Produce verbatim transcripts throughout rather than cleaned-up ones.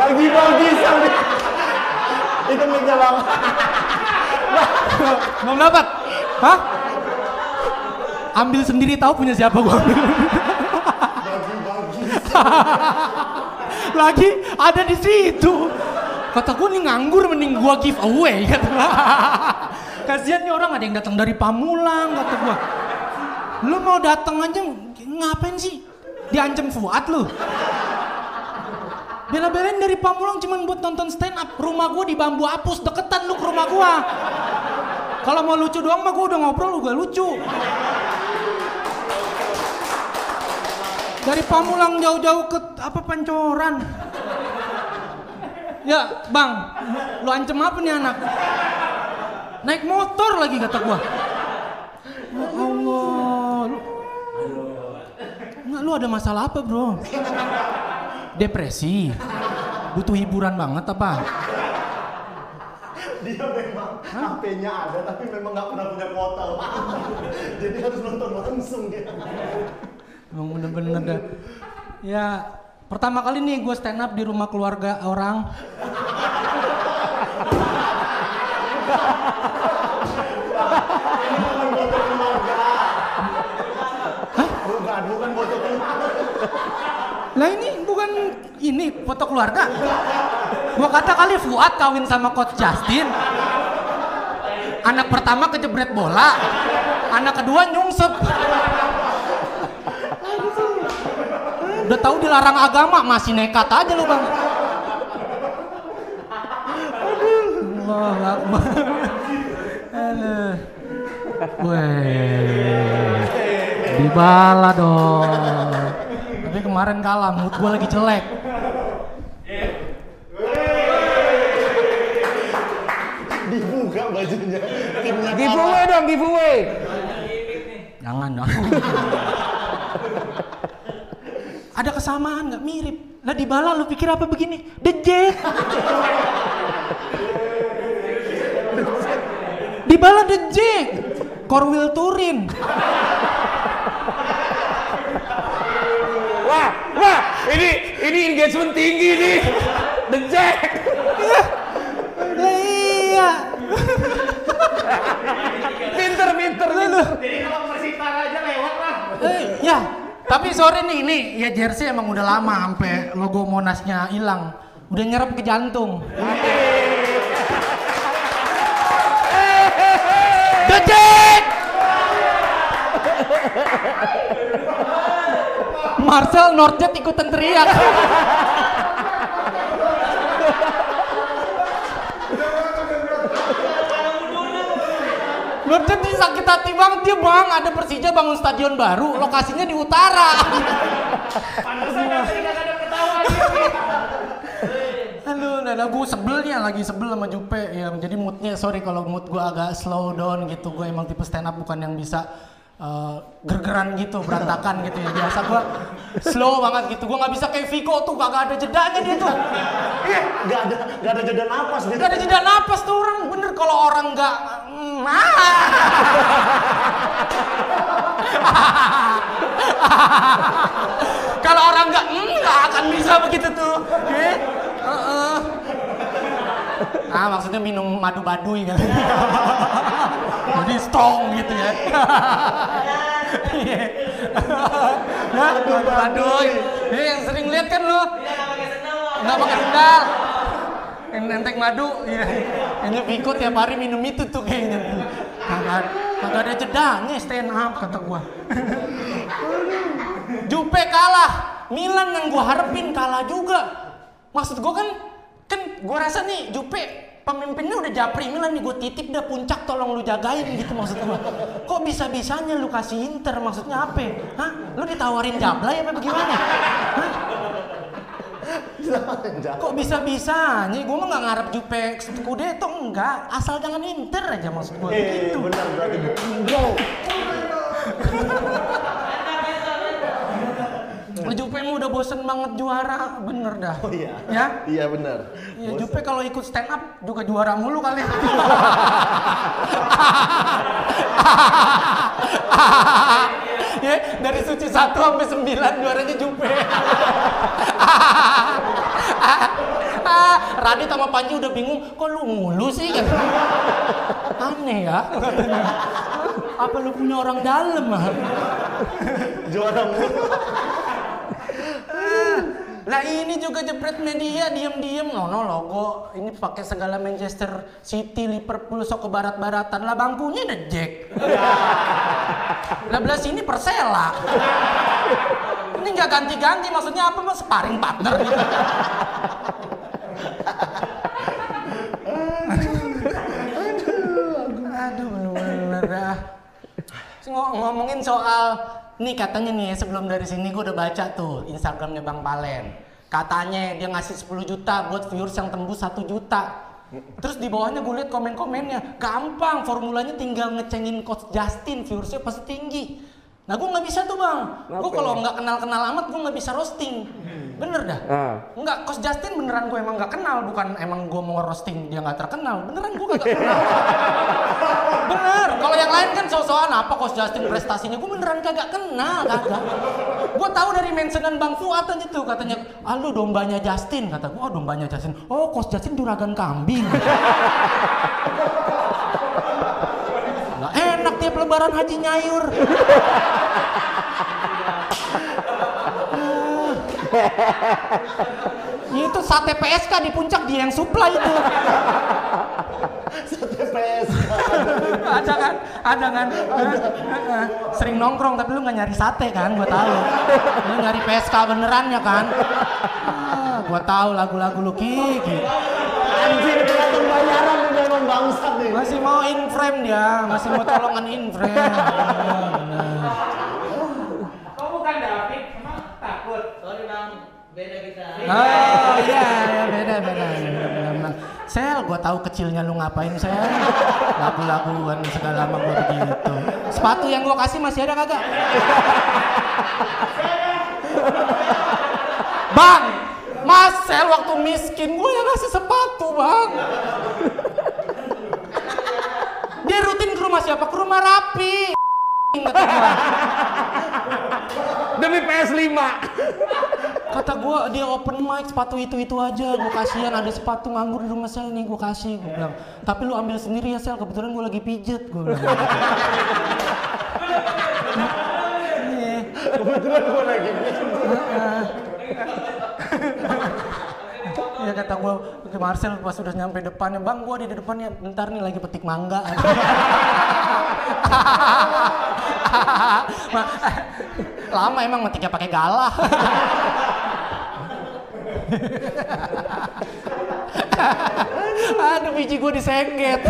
Bagi-bagi sambil itu mic-nya bang. Belum dapat? Hah? Ambil sendiri tahu punya siapa gua ambil. Bagi-bagi. Lagi ada di situ. Kata gua nih nganggur mending gua give away kata gua. Kasihan nih orang ada yang datang dari Pamulang kata gua. Lu mau datang aja ngapain sih? Diancam Fuad lu. Bela-belain dari Pamulang cuman buat nonton stand up. Rumah gua di Bambu Apus, deketan lu ke rumah gua. Kalau mau lucu doang mah gua udah ngobrol juga lucu. Dari Pamulang jauh-jauh ke apa Pancoran. Ya, Bang, lu ancam apa nih anak? Naik motor lagi kata gua. Ya Allah, lu Nggak, lu ada masalah apa, Bro? Depresi? Butuh hiburan banget apa? Dia memang H P-nya ada tapi memang nggak pernah punya kuota. Jadi harus nonton langsung dia. Emang bener-bener dah. Ya, pertama kali nih gue stand up di rumah keluarga orang. Ini bukan foto keluarga. Hah? Bukan, bukan foto keluarga. Lah ini bukan ini foto keluarga. Gua kata kali Fuad kawin sama Coach Justin. Anak pertama kejebret bola. Anak kedua nyungsep. Udah tahu dilarang agama masih nekat aja lu, Bang. Allahu Akbar. Aduh. Weh. Dibala dong. Tapi kemarin kalah, mood gue lagi jelek. Dibuka bajunya. Timnya Giveaway dong, giveaway. Jangan dong. Ada kesamaan nggak mirip? Lah Dybala lu pikir apa begini? The Jack. Dybala The Jack. Korwil Turin. Wah, wah, ini ini engagement tinggi nih. The Jack. Lah iya. Pinter, pinter, pinter. Jadi kalau Persita aja lewat lah. Eh, ya, tapi sore nih ini ya jersey emang udah lama sampai logo Monasnya hilang. Udah nyerap ke jantung. The Jack. Marcel Nordjet ikutan teriak. Nordjet ini sakit hati banget dia, Bang. Ada Persija bangun stadion baru, lokasinya di utara. Pantesan tadi nggak ada ketawa dia. Aduh, nah, gue sebelnya lagi sebel sama Jupe ya. Jadi moodnya, sorry kalau mood gue agak slow down gitu. Gue emang tipe stand up bukan yang bisa uh, gergeran gitu, berantakan gitu ya. Biasa gue slow banget gitu. Gue nggak bisa kayak Viko tuh, kagak ada jedanya dia tuh. Iya, nggak ada nggak ada jeda napas dia. Gak ada jeda napas tuh orang. Bener kalau orang nggak mm, kalau orang nggak mm, nggak akan bisa begitu tuh. Eh? Uh-uh. Ah, maksudnya minum madu baduy kan. Jadi strong gitu ya. Madu baduy. Eh, yang sering lihat kan lo? Nggak pakai sendal. Yang nenteng madu, ya. Ini Viko tiap hari minum itu tuh kayaknya. Kagak, kagak ada jedanya stand up kata gua. Jupe kalah, Milan yang gua harapin kalah juga. Maksud gua kan, kan gua rasa nih Jupe pemimpinnya udah japri Milan nih, gua titip dah puncak tolong lu jagain gitu maksud gua. Kok bisa-bisanya lu kasih Inter, maksudnya apa? Hah? Lu ditawarin Jablay apa bagaimana? Hah? Kok bisa-bisanya? Gue mah gak ngarep Jupe Scudetto, enggak. Asal jangan Inter aja maksud gue. Eh, gitu. benar berarti bro. Jupe mah udah bosen banget juara, bener dah. Oh iya. Ya? Iya benar. Ya, Jupe kalau ikut stand up juga juara mulu kali. Ya, dari suci satu sampai sembilan juaranya Jupe. Radit sama Panji udah bingung, kok lu mulu sih kan? Aneh ya. Apa lu punya orang dalam ah? Juara mulu. Lah ini juga jepret media diem-diem nono logo ini pakai segala Manchester City, Liverpool sok ke barat-baratan lah bangkunya ada Jack. Lah belah sini Persela. Ini nggak ganti-ganti maksudnya apa mas sparring partner gitu. Aduh bener-bener dah. Ngomongin soal nih katanya nih sebelum dari sini gue udah baca tuh Instagramnya Bang Palen. Katanya dia ngasih sepuluh juta buat viewers yang tembus satu juta. Terus di bawahnya gue liat komen-komennya. Gampang, formulanya tinggal ngecengin Coach Justin, viewersnya pasti tinggi. Nah gue nggak bisa tuh bang. Gue kalau nggak kenal-kenal amat gue nggak bisa roasting. Bener dah. Ah. Enggak, Coach Justin beneran gue emang nggak kenal, bukan emang gue mau roasting dia nggak terkenal. Beneran gue nggak kenal. Bener. Kalau yang lain kan so-soan apa Coach Justin prestasinya, gue beneran kagak kenal, kagak. Gue tahu dari mentionan Bang Fuad aja tuh katanya, ah lu dombanya Justin, kata gue, oh dombanya Justin. Oh Coach Justin juragan kambing. Nah, enak tiap lebaran haji nyayur. Itu sate P S K di puncak dia yang supply itu. Sate P S K. Ada kan? Ada kan? Ada. Sering nongkrong tapi lu nggak nyari sate kan? Gua tahu. Lu nyari P S K beneran ya kan? Ah, gua tahu lagu-lagu lu Kiki. Anjing kelihatan bayaran udah emang bangsat nih. Masih mau in frame dia, masih mau tolongan in frame. Bener. Kok bukan David? Emang takut? Sorry bang, beda kita. Oh iya, ya beda beda. beda. Sel, gua tahu kecilnya lu ngapain Sel. Lagu-laguan segala sama gua begitu. Sepatu yang gua kasih masih ada kagak? Bang, Mas Sel waktu miskin gua yang ngasih sepatu bang. Dia rutin ke rumah siapa? Ke rumah Rapi. Kata gua. Demi P S lima. Kata gua dia open mic sepatu itu-itu aja, gua kasihan ada sepatu nganggur di rumah Sel nih gua kasih, gua bilang. Tapi lu ambil sendiri ya Sel, kebetulan gua lagi pijet, gua bilang. Kebetulan gua lagi pijet. Ya kata gua ke Marcel pas udah nyampe depannya, bang gua di depannya bentar nih lagi petik mangga. Lama emang metiknya pakai galah. Aduh biji gue disengget.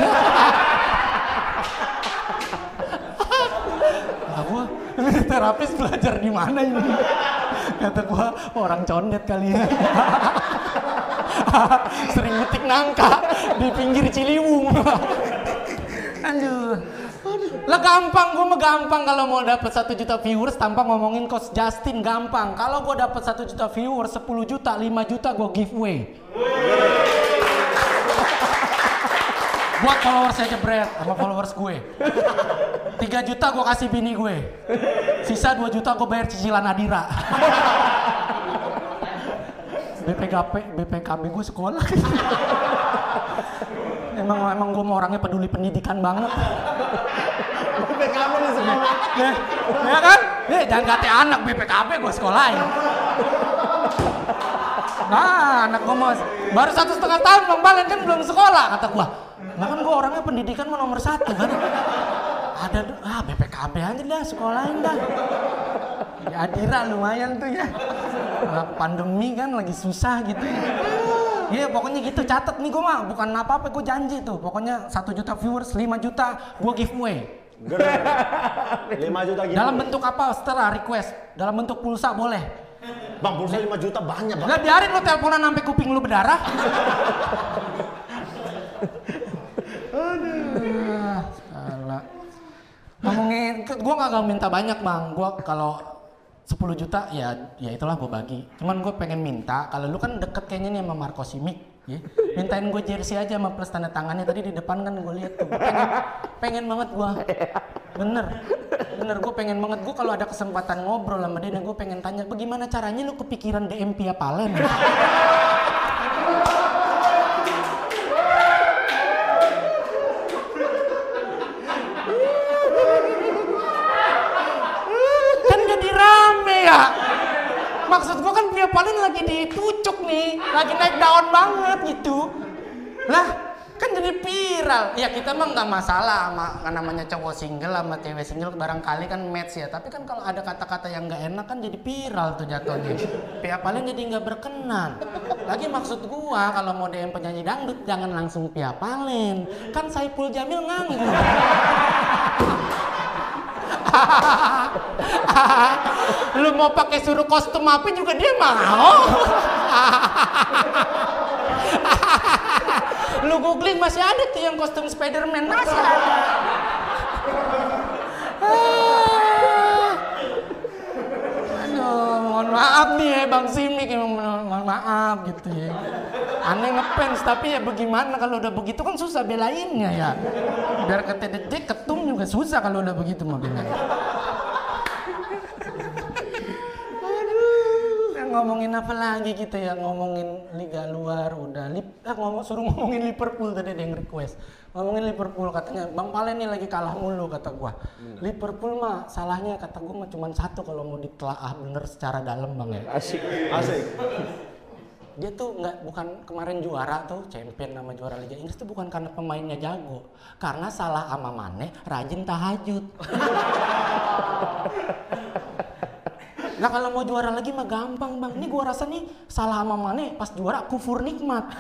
Nah, gue terapis belajar di mana ini? Kata gue orang condet kali ya. Sering metik nangka di pinggir Ciliwung. Aduh. Lah gampang, gue mah gampang kalau mau dapat satu juta viewers tanpa ngomongin Coach Justin gampang. Kalau gue dapat satu juta viewers, sepuluh juta, lima juta gue giveaway. Buat followers aja Brad sama followers gue. tiga juta gue kasih bini gue. Sisa dua juta gue bayar cicilan Adira. B P K P, B P K B gue sekolah. Emang emang gue mau orangnya peduli pendidikan banget. B P K B di sekolah. Ya, ya kan? Eh, jangan kata anak B P K B gue sekolahin. Nah, anak gue mau baru satu setengah tahun Bang Palen kan belum sekolah kata gue. Nah kan gue orangnya pendidikan mau nomor satu kan. Ada ah B P K B aja dah sekolahin dah. Ya Adira lumayan tuh ya. Nah, pandemi kan lagi susah gitu ya. Iya yeah, pokoknya gitu catat nih gue mah bukan apa-apa gue janji tuh pokoknya satu juta viewers lima juta gue giveaway. lima juta gitu. Dalam bentuk apa? Setelah request. Dalam bentuk pulsa boleh. Bang pulsa lima juta banyak bang. Gak biarin lo teleponan sampai kuping lu berdarah. Aduh. Salah. Ngomongin, gue gak minta banyak bang. Gue kalau sepuluh juta ya ya itulah gue bagi. Cuman gue pengen minta kalau lu kan deket kayaknya nih sama Marco Simic ya. Mintain gue jersey aja sama plus tanda tangannya tadi di depan kan gue lihat tuh. Gua pengen pengen banget gue. Bener. Bener gue pengen banget gue kalau ada kesempatan ngobrol sama dia dan gue pengen tanya bagaimana caranya lu kepikiran D M Pia Palen. Via Valen lagi ditucuk nih, lagi naik daun banget gitu. Lah, kan jadi viral. Ya kita mah nggak masalah sama kan namanya cowok single sama cewek single barangkali kan match ya. Tapi kan kalau ada kata-kata yang nggak enak kan jadi viral tuh jatuhnya. Via Valen jadi nggak berkenan. Lagi maksud gua kalau mau D M penyanyi dangdut jangan langsung Via Valen. Kan Saipul Jamil nganggur. Lu mau pakai suruh kostum apa juga dia mau. Lu googling masih ada tuh yang kostum Spiderman, masih ada. Aduh, mohon maaf nih ya Bang Simik, mohon maaf gitu ya. Aneh ngefans, tapi ya bagaimana kalau udah begitu kan susah belainnya ya. Biar kata Jack ketum juga susah kalau udah begitu mah belain. Ngomongin apa lagi kita ya, ngomongin liga luar udah lip ah, ngomong suruh ngomongin Liverpool tadi ada yang request ngomongin Liverpool katanya Bang Valen nih lagi kalah mulu kata gua. hmm. Liverpool mah salahnya kata gua mah cuma satu kalau mau ditelaah bener secara dalam Bang ya. Asik. Asik. Dia tuh nggak bukan kemarin juara tuh champion sama juara Liga Inggris tuh bukan karena pemainnya jago, karena salah ama Mane rajin tahajud. Nah kalau mau juara lagi mah gampang Bang. Ini gua rasa nih salah sama Mane pas juara kufur nikmat.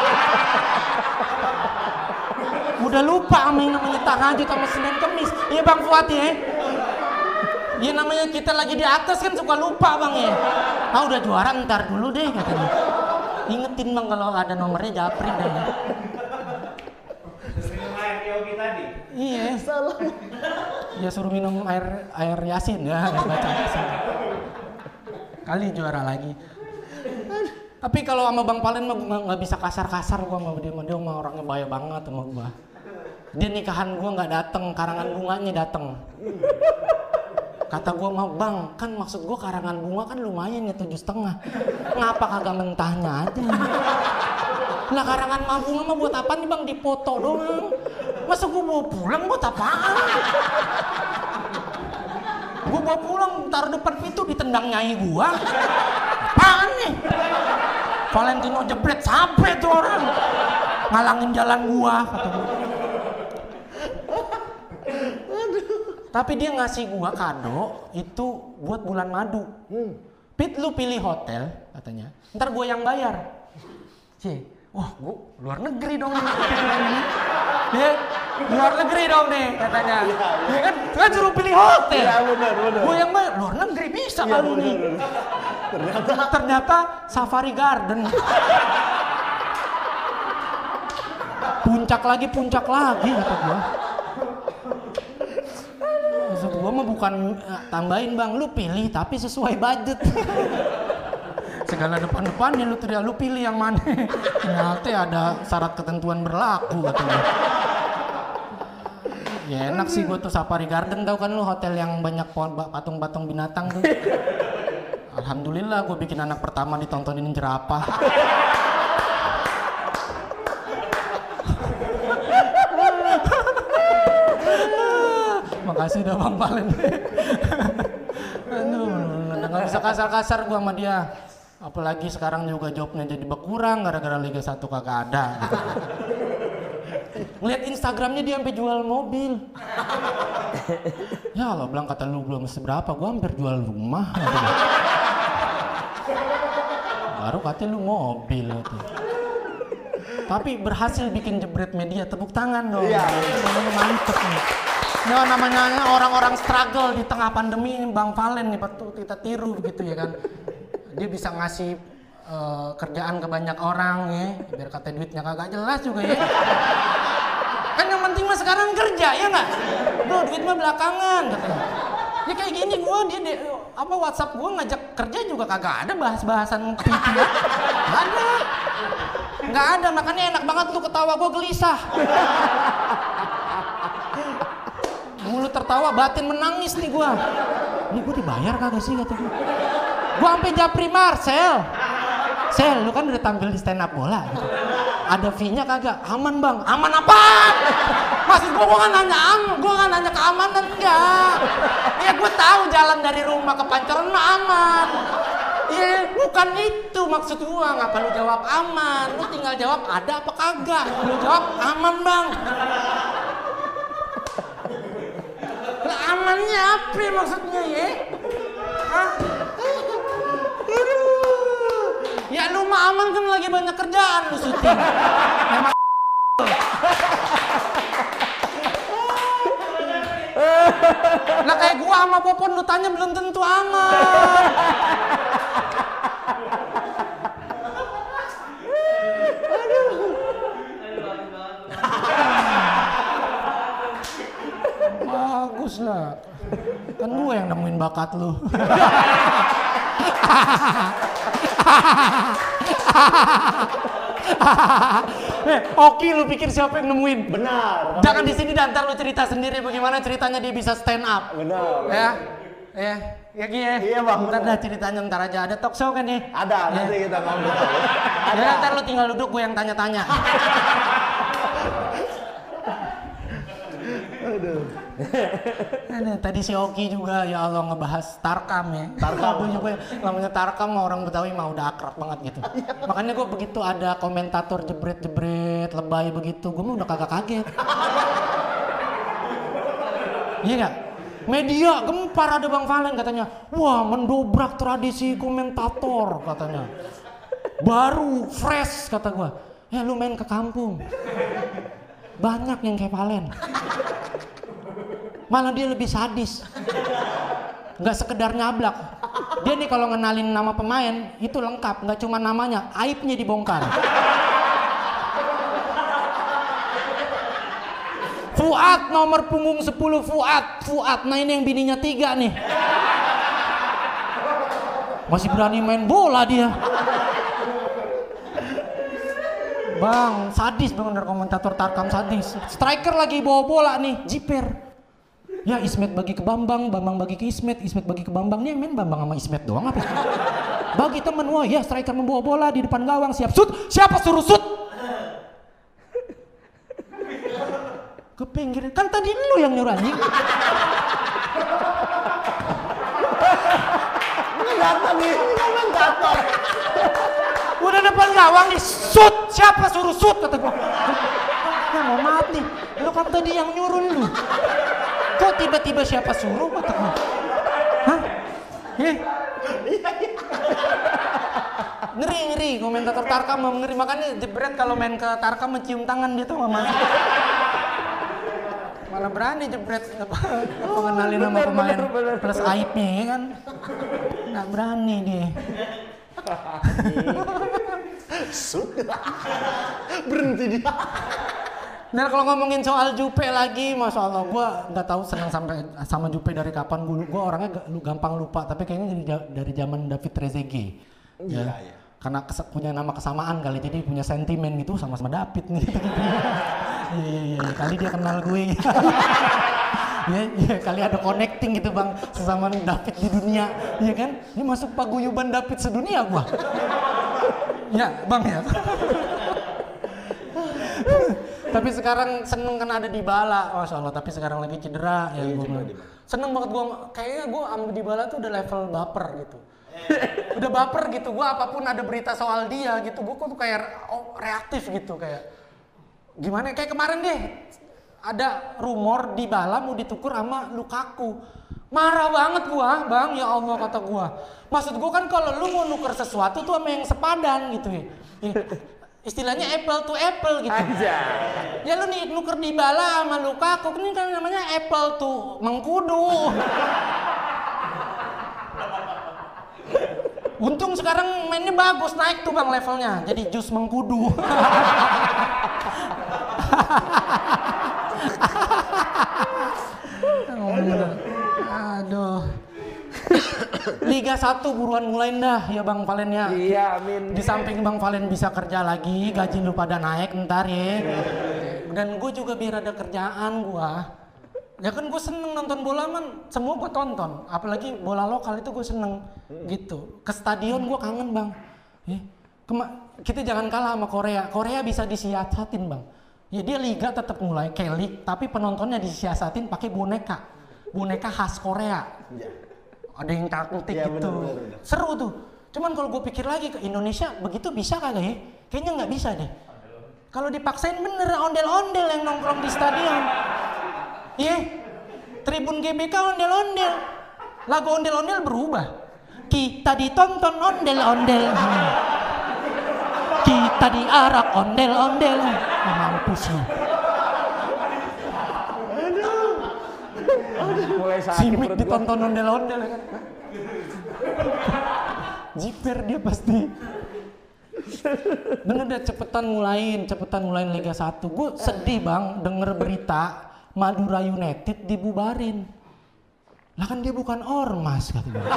Udah lupa sama yang namanya tahajud sama Senin Kemis. Iya Bang Fuad ya. Ya namanya kita lagi di atas kan suka lupa Bang ya. Ah udah juara ntar dulu deh katanya. Ingetin Bang kalau ada nomornya japri deh. Minum air yogi tadi. Iya. Salah. Ya suruh minum air air Yasin ya, baca Yasin. Kali juara lagi. Tapi kalau sama Bang Valen mah nggak bisa kasar-kasar gua sama dia, dia mah orangnya bahaya banget sama gua. Dia nikahan gua nggak dateng, karangan bunganya dateng. Kata gua mah Bang, kan maksud gua karangan bunga kan lumayan ya tujuh setengah. Ngapa kagak mentahnya aja? Lah karangan mah bunga mah buat apa nih Bang? Dipoto doang. Masa gua bawa pulang buat apaan? Gua bawa pulang, taruh depan pintu ditendang nyai gua. Apaan nih? Valentino jebret sampai tuh orang. Ngalangin jalan gua, kata gua. Tapi dia ngasih gua kado itu buat bulan madu. Pit lu pilih hotel katanya. Ntar gua yang bayar. Cie, wah gua luar negeri dong ini. Ya, luar negeri dong nih katanya. Ya kan, kan suruh pilih hotel. Iya benar benar. Gua yang bayar, luar negeri bisa Iya, kali ini. Ternyata Ternyata Safari Garden. Puncak lagi, puncak lagi kata gua. Maksud gua mah bukan uh, tambahin Bang, lu pilih tapi sesuai budget. Segala depan-depannya lu teriak, lu pilih yang mana. Ternyata ada syarat ketentuan berlaku katanya. Ya enak sih gua tuh Safari Garden, tau kan lu hotel yang banyak patung-patung binatang tuh. Alhamdulillah gua bikin anak pertama ditontonin jerapah. Makasih udah Bang Valen. Aduh, nggak bisa kasar-kasar gua sama dia. Apalagi sekarang juga jobnya jadi berkurang gara-gara Liga satu kagak ada. Gitu. Ngeliat Instagramnya dia sampai jual mobil. Ya Allah, bilang kata lu belum seberapa, gua hampir jual rumah. Gitu. Baru katanya lu mobil gitu. Tapi berhasil bikin jebret media, tepuk tangan dong. Iya. Mantep nih. Ya namanya orang-orang struggle di tengah pandemi ini Bang Valen nih patut kita tiru begitu ya kan. Dia bisa ngasih uh, kerjaan ke banyak orang ya, biar kata duitnya kagak jelas juga ya. Kan yang penting mah sekarang kerja ya nggak? Tuh duit mah belakangan katanya. Ya kayak gini gua dia, dia apa WhatsApp gua ngajak kerja juga kagak ada bahas-bahasan P P. Nggak ada. Nggak ada, makanya enak banget lu ketawa gua gelisah. Mulut tertawa, batin menangis nih gua. Ini gua dibayar kagak sih kata gua. Gua sampai japri Marcel. Sel, lu kan udah tampil di stand up bola gitu. Ada fee-nya kagak? Aman Bang. Aman apaan? Maksud gua gua kan nanya aman, gua kan nanya keamanan enggak. Ya gua tahu jalan dari rumah ke Pancoran aman. Iya, bukan itu maksud gua. Ngapa lu jawab aman? Lu tinggal jawab ada apa kagak. Lu jawab aman bang. Lah amannya apa maksudnya ya? Hah? Ya lu mah aman kan lagi banyak kerjaan lu syuting. Memang lah kayak gua sama Popon lu tanya belum tentu aman. Bagus lah. Kan gua yang nemuin bakat lu. Eh, Oki lu pikir siapa yang nemuin? Benar. Jangan di sini dan ntar lu cerita sendiri bagaimana ceritanya dia bisa stand up. Benar. Ya. Ya, ya Ki ya. Iya, Bang. Ntar dah ceritanya ntar aja. Ada talk show kan nih? Ada, ya. nanti kita ngomong. Ya, ntar lu tinggal duduk gue yang tanya-tanya. Aduh. Nah, tadi si Oki juga ya Allah ngebahas Tarkam ya. Tarkam. Aduh, juga namanya Tarkam mah orang Betawi mah udah akrab banget gitu. Makanya gue begitu ada komentator jebret-jebret lebay begitu, gue mah udah kagak kaget. Iya nggak? Media gempar ada Bang Valen katanya. Wah, mendobrak tradisi komentator katanya. Baru fresh kata gue. Ya lu main ke kampung. Banyak yang kayak Valen. Malah dia lebih sadis. Nggak sekedar nyablak. Dia nih kalau ngenalin nama pemain itu lengkap, nggak cuma namanya, aibnya dibongkar. Fuad nomor punggung sepuluh Fuad, Fuad. Nah ini yang bininya tiga nih. Masih berani main bola dia. Bang, sadis bener komentator Tarkam sadis. Striker lagi bawa bola nih, jiper. Ya Ismet bagi ke Bambang, Bambang bagi ke Ismet, Ismet bagi ke Bambang. Nih main Bambang sama Ismet doang apa? Bagi temen, wah ya striker membawa bola di depan gawang, siap shoot. Siapa suruh shoot? Ke pinggir, kan tadi lu yang nyuruh anjing. Datang nih, komentator. Udah depan gawang nih, shoot. Siapa suruh shoot kata gua. Ya mau maaf nih, lu kan tadi yang nyuruh lu. Kok tiba-tiba siapa suruh kata gua. Hah? Eh? Ngeri ngeri komentator Tarkam mau ngeri, makanya jebret kalau main ke Tarkam mencium tangan dia tuh nggak masuk. Malah berani jebret apa ngenalin nama pemain plus aibnya ya kan. Nggak berani dia. Sudah. Berhenti dia. Nah kalau ngomongin soal Jupe lagi, masya Allah, gue nggak tahu senang sampai sama Jupe dari kapan. Gue gue orangnya gak, lu gampang lupa, tapi kayaknya dari, dari zaman David Trezeguet. Iya, Ya. iya. Karena kes, punya nama kesamaan kali, jadi punya sentimen gitu sama-sama David nih. Iya iya iya, kali dia kenal gue. Ya, ya, kali ada connecting gitu bang, sesama David di dunia, ya kan? Ini masuk paguyuban David sedunia gua. Ya bang ya. Tapi sekarang seneng kan ada Dybala, masya Allah. Tapi sekarang lagi cedera, ya gua bilang. Seneng banget gua, kayaknya gua sama Dybala tuh udah level baper gitu. Udah baper gitu, gua apapun ada berita soal dia gitu, gua tuh kayak oh, reaktif gitu kayak. Gimana? Kayak kemarin deh. Ada rumor Dybala mau ditukur sama Lukaku. Marah banget gua, bang, ya Allah kata gua. Maksud gua kan kalau lu mau nuker sesuatu tuh sama yang sepadan gitu ya. Istilahnya apple to apple gitu. Aja. Ya lu nih nuker Dybala sama Lukaku, ini kan namanya apple to mengkudu. Untung sekarang mainnya bagus, naik tuh bang levelnya. Jadi jus mengkudu. Aduh. Liga satu buruan mulain dah ya Bang Valen ya. Iya, amin. Di samping Bang Valen bisa kerja lagi, gaji lu pada naik ntar ya. Dan gue juga biar ada kerjaan gua. Ya kan gue seneng nonton bola man, semua gue tonton. Apalagi bola lokal itu gue seneng gitu. Ke stadion gue kangen bang. Ya. Kema kita jangan kalah sama Korea. Korea bisa disiasatin bang. Ya dia liga tetap mulai K-League, tapi penontonnya disiasatin pakai boneka. Boneka khas Korea. Ya. Ada yang cantik Ya, gitu. bener, bener, bener. Seru tuh. Cuman kalau gue pikir lagi ke Indonesia begitu bisa kagak ya? Kayaknya nggak bisa deh. Kalau dipaksain bener ondel-ondel yang nongkrong di stadion. Iya, yeah. Tribun G B K ondel-ondel. Lagu ondel-ondel berubah. Kita ditonton ondel-ondel. Hmm. Kita diarak ondel-ondel. Oh, mampus lu. Mulai sakit Si Mik perut gua. ditonton ondel-ondel kan. Jiper dia pasti. Bener deh, cepetan mulain, cepetan mulain Liga satu. Gue sedih bang denger berita Madura United dibubarin. Lah kan dia bukan ormas kata gue.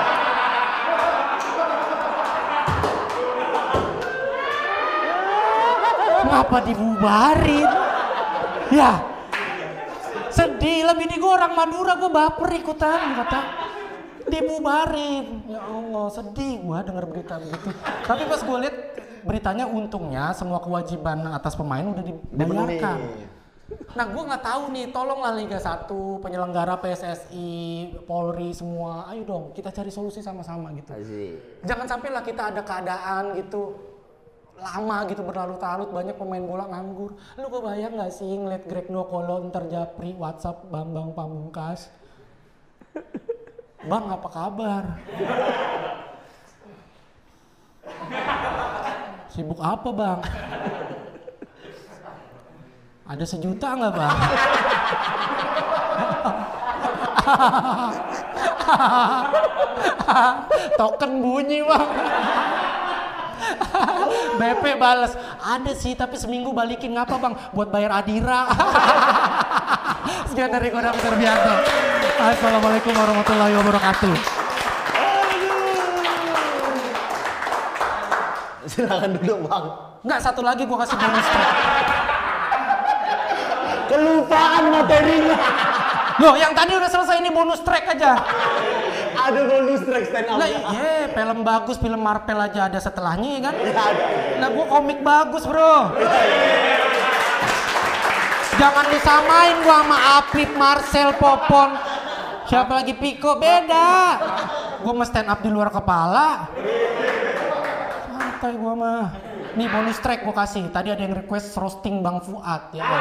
Ngapa dibubarin? Ya sedih, lebih di gue orang Madura, gue baper ikutan kata. Dibubarin, ya Allah sedih gua denger berita begitu. Tapi pas gue lihat beritanya untungnya semua kewajiban atas pemain udah dibayarkan. Nah gue nggak tahu nih, tolonglah Liga satu, penyelenggara P S S I, Polri semua, ayo dong kita cari solusi sama-sama gitu. Asik. Jangan sampai lah kita ada keadaan gitu lama gitu berlarut-larut banyak pemain bola nganggur. Lu kebayang nggak sih ngeliat Greg Nokolo ntar Japri WhatsApp Bambang Pamungkas? Bang, apa kabar? Sibuk apa, Bang? Ada sejuta nggak, Bang? Token bunyi, Bang. B P balas, ada sih tapi seminggu balikin ngapa Bang? Buat bayar Adira. Sekian dari Kodam Terbianto. Assalamualaikum warahmatullahi wabarakatuh. Silakan duduk bang. Enggak, satu lagi gua kasih bonus track. Kelupaan materinya. Loh, yang tadi udah selesai, ini bonus track aja. Ada bonus track stand up. Lah iya, film bagus, film Marvel aja ada setelahnya ya kan? Ya, ada. Nah gua komik bagus bro. Jangan disamain gua sama Apip, Marcel, Popon. Siapa lagi Piko, beda. Gua mah stand up di luar kepala. Santai gua mah. Nih bonus track gua kasih. Tadi ada yang request roasting Bang Fuad ya.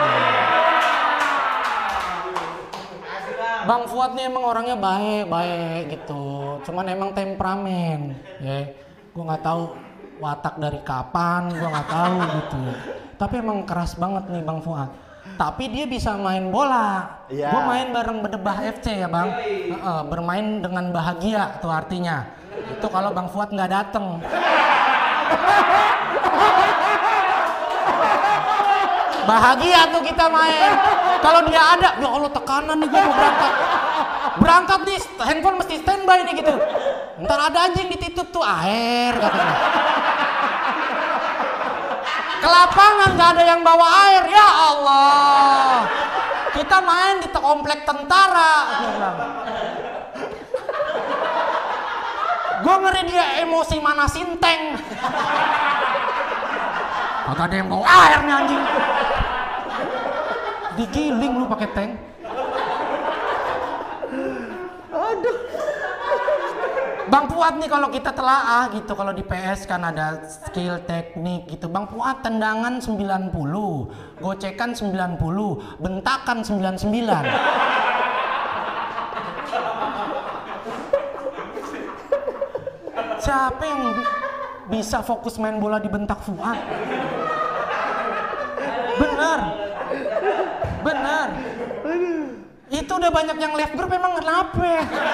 Bang Fuad nih emang orangnya baik-baik gitu. Cuman emang temperamen. Ya. Gua nggak tahu watak dari kapan, gua nggak tahu gitu. Tapi emang keras banget nih Bang Fuad. Tapi dia bisa main bola. Ya. Gue main bareng Bedebah F C ya bang. Uh, bermain dengan bahagia tuh artinya. Itu kalau Bang Fuad nggak dateng. Bahagia tuh kita main. Kalau dia ada, ya Allah tekanan nih gue mau berangkat. Berangkat nih, handphone mesti standby nih gitu. Ntar ada anjing dititip tuh air katanya. Ke lapangan nggak ada yang bawa air, ya Allah. Kita main di komplek tentara. Gue ngeri dia emosi manasin tank. Kagak ada yang bawa air nih anjing. Digiling lu pakai tank. Aduh. Bang Fuad nih kalau kita telaah gitu, kalau di P S kan ada skill teknik gitu. Bang Fuad tendangan sembilan puluh, gocekan sembilan puluh, bentakan sembilan puluh sembilan. Siapa yang bisa fokus main bola di bentak Fuad? Bener. Bener. Itu udah banyak yang left group, emang kenapa?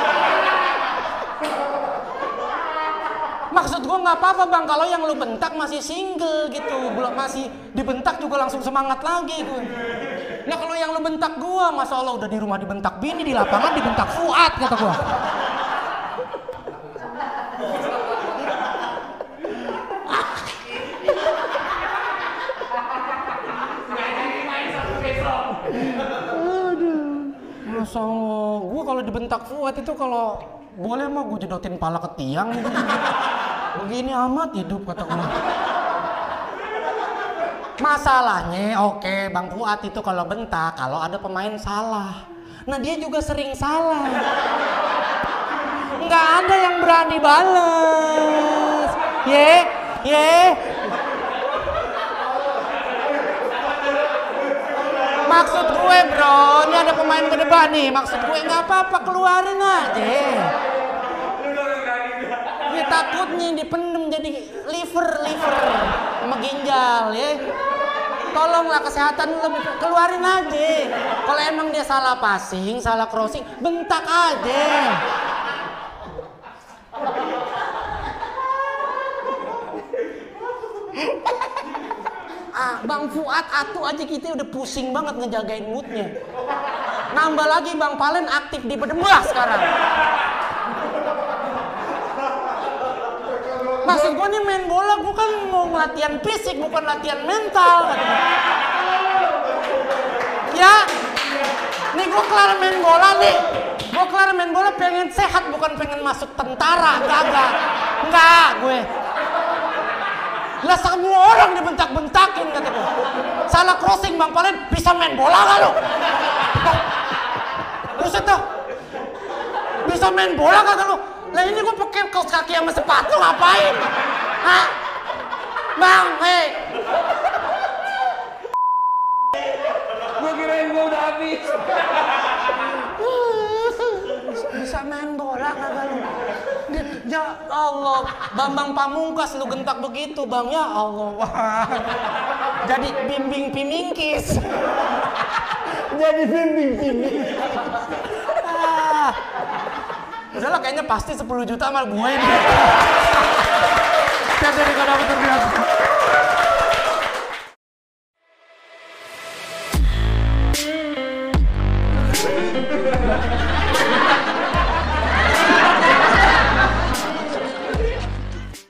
Maksud gue nggak apa-apa bang, kalau yang lu bentak masih single gitu, belum masih dibentak juga langsung semangat lagi gue. Nah kalau yang lu bentak gue, masa Allah udah di rumah dibentak bini, di lapangan dibentak Fuad kata gue. Masa Allah, gue kalau dibentak Fuad itu kalau boleh mah gue jedotin pala ke tiang gitu. Begini amat hidup kata gue. Masalahnya oke Bang Fuad itu kalau bentak kalau ada pemain salah. Nah dia juga sering salah. Nggak ada yang berani balas. Ye, ye. Maksud gue bro, ini ada pemain ke depan nih. Maksud gue nggak apa-apa, keluarin aja. Ya takutnya dipendem jadi liver, liver sama ginjal ya. Tolonglah kesehatan lu lebih, keluarin aja. Kalau emang dia salah passing, salah crossing, bentak aja. Ah, Bang Fuad atu aja kita udah pusing banget ngejagain moodnya. Nambah lagi Bang Palen aktif di Bedebah sekarang. Maksud gue nih main bola, gue kan mau latihan fisik bukan latihan mental. Ya, nih gue kelar main bola nih. Gue kelar main bola pengen sehat bukan pengen masuk tentara, kagak. Enggak gue. Lah semua orang dibentak-bentakin kata gue. Salah crossing Bang Palen, bisa main bola gak lu? Buset dah. Bisa main bola kagak lu? Lah ini gue pakai kaos kaki sama sepatu ngapain? Hah? Bang, hei. Gue kirain gue udah habis. Bisa main bola kagak lu? Ya Allah, Bambang Pamungkas lu gentak begitu Bang, ya Allah. Jadi bimbing pimingkis. Jadi bimbing bimbing. Ah. Udahlah kayaknya pasti sepuluh juta sama gue ini. Saya jadi gak dapet terbiasa.